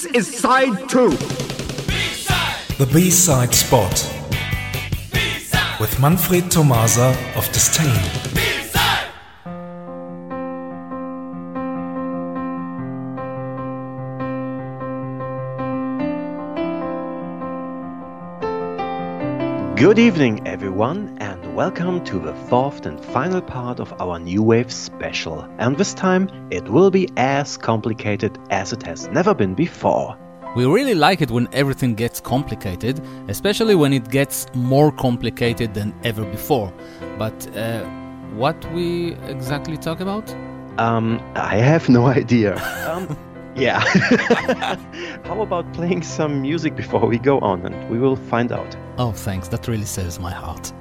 This is side 2. B-side. The B-side spot. B-side. With Manfred Tomasa of Disdain. B-side. Good evening, everyone, and welcome to the fourth and final part of our New Wave special. And this time, it will be as complicated as it has never been before. We really like it when everything gets complicated, especially when it gets more complicated than ever before. But what we exactly talk about? I have no idea. Yeah. How about playing some music before we go on, and we will find out. Oh, thanks. That really saves my heart.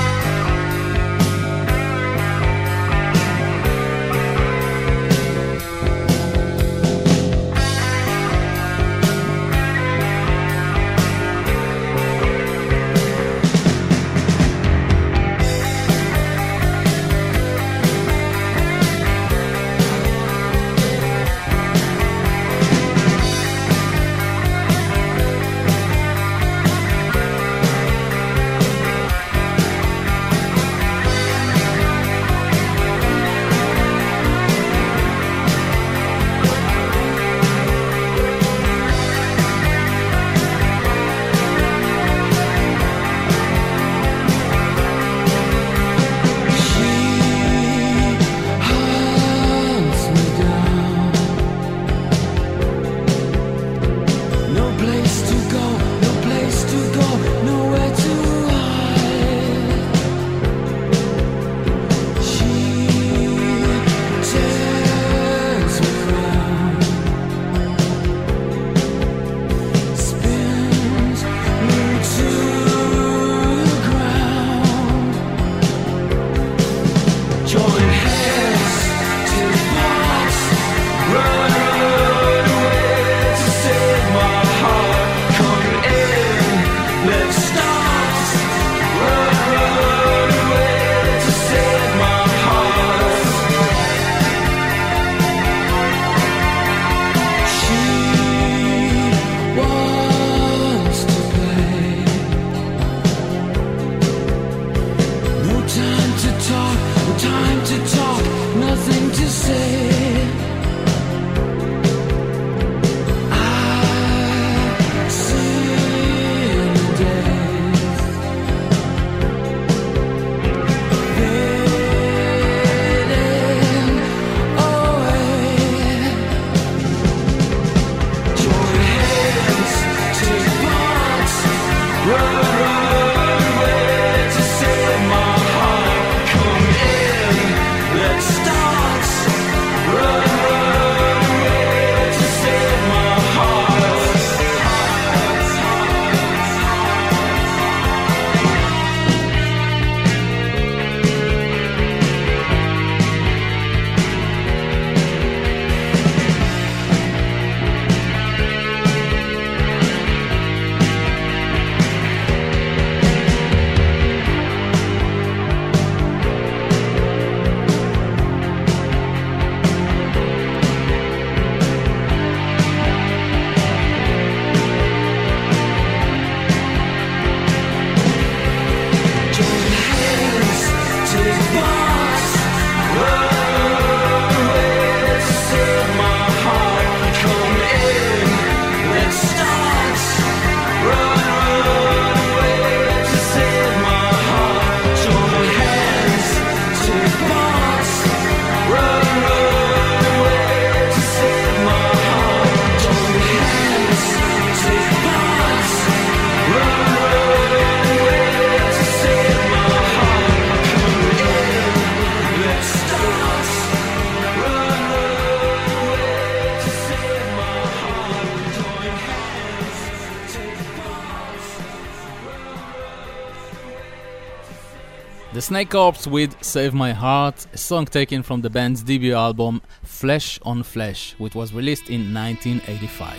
The Snake Corps with Save My Heart, a song taken from the band's debut album Flesh on Flesh, which was released in 1985.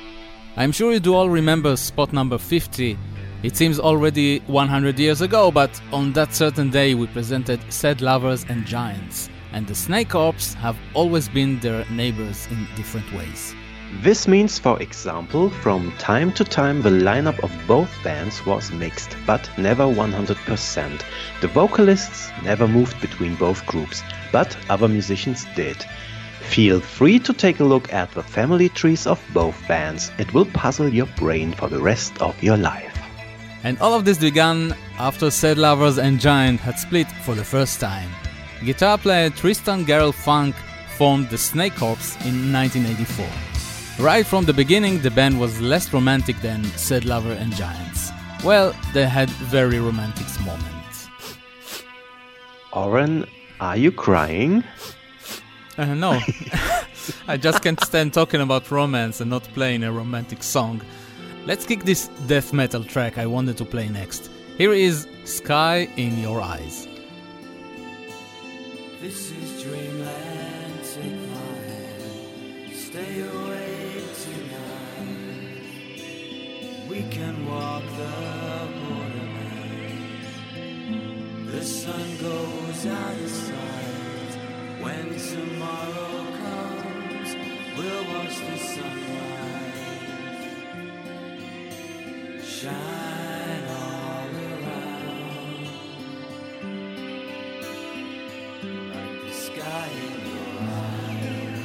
I'm sure you do all remember spot number 50. It seems already 100 years ago, but on that certain day we presented Sad Lovers and Giants, and the Snake Corps have always been their neighbors in different ways. This means, for example, from time to time the lineup of both bands was mixed, but never 100%. The vocalists never moved between both groups, but other musicians did. Feel free to take a look at the family trees of both bands. It will puzzle your brain for the rest of your life. And all of this began after Sad Lovers and Giant had split for the first time. Guitar player Tristan Garrel Funk formed the Snake Corps in 1984. Right from the beginning, the band was less romantic than Sad Lover and Giants. Well, they had very romantic moments. Oren, are you crying? No. I just can't stand talking about romance and not playing a romantic song. Let's kick this death metal track I wanted to play next. Here is Sky in Your Eyes. This is dreamland, take my hand, stay awake tonight. We can walk the borderland. The sun goes out of sight. When tomorrow comes, we'll watch the sunrise shine all around like the sky in your eyes.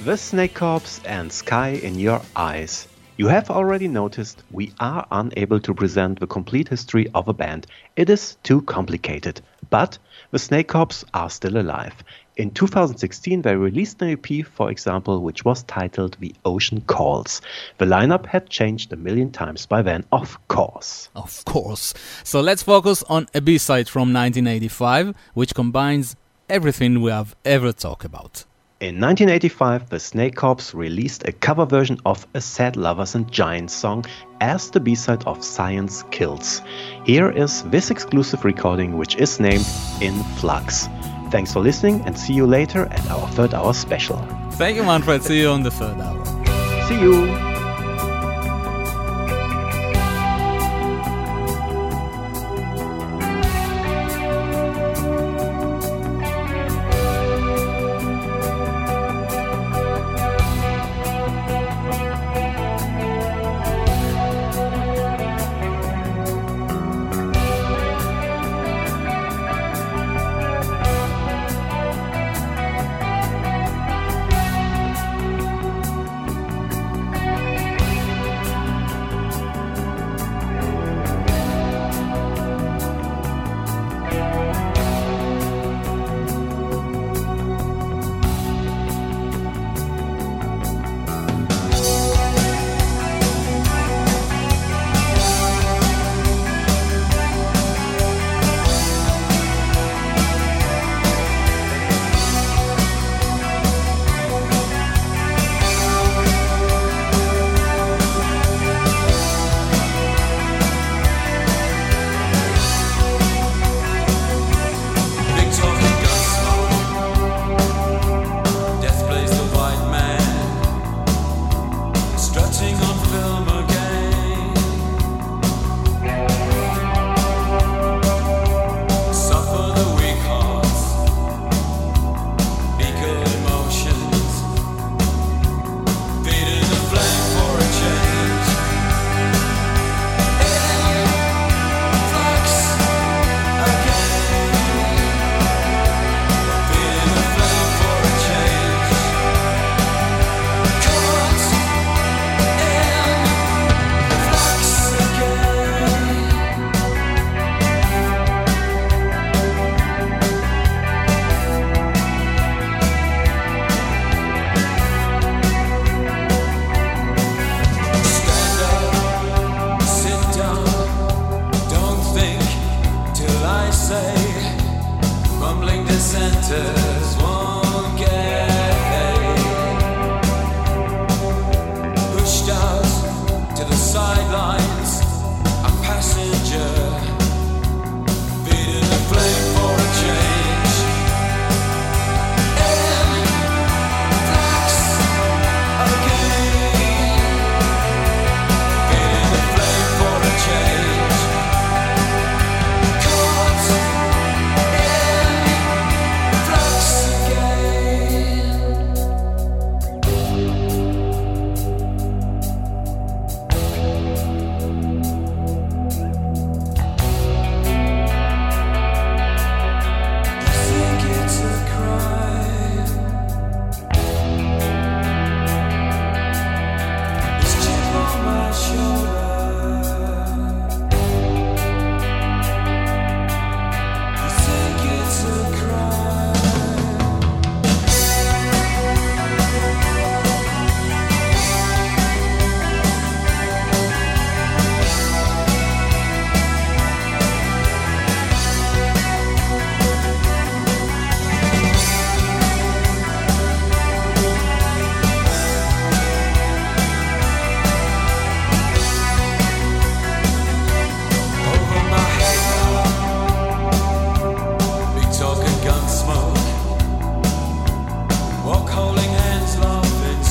The Snake Corps and Sky in Your Eyes. You have already noticed we are unable to present the complete history of a band. It is too complicated. But the Snake Corps are still alive. In 2016 they released an EP, for example, which was titled The Ocean Calls. The lineup had changed a million times by then, of course. Of course. So let's focus on a B-side from 1985, which combines everything we have ever talked about. In 1985, the Snake Corps released a cover version of a Sad Lovers and Giants song as the B-side of Science Kills. Here is this exclusive recording, which is named In Flux. Thanks for listening and see you later at our third hour special. Thank you, Manfred. See you on the third hour. See you!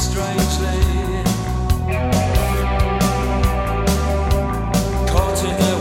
Caught in